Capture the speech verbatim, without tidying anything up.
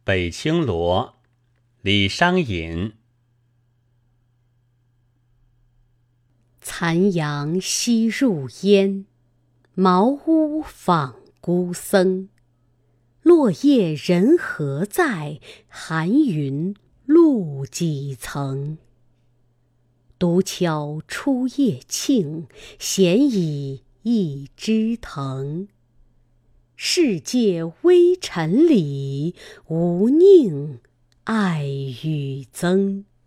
北青罗，李商隐。 残阳西入烟，茅屋访孤僧。落叶人何在？寒云露几层。独敲初夜磬，闲倚一枝藤。世界微尘里，无宁爱与憎。